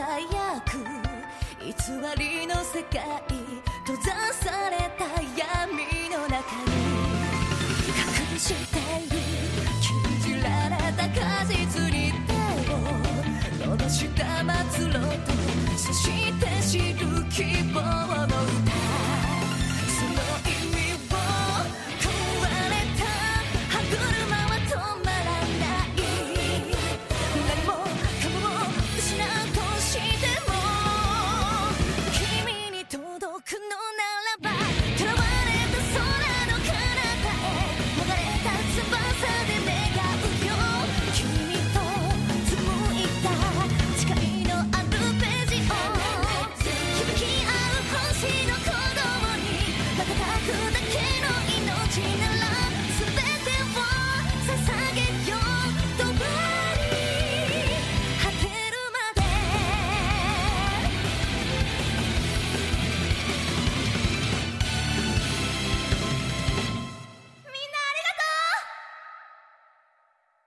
輝く偽りの世界、閉ざされた闇の中に隠している禁じられた果実に手を伸ばした末路と、そして知る希望の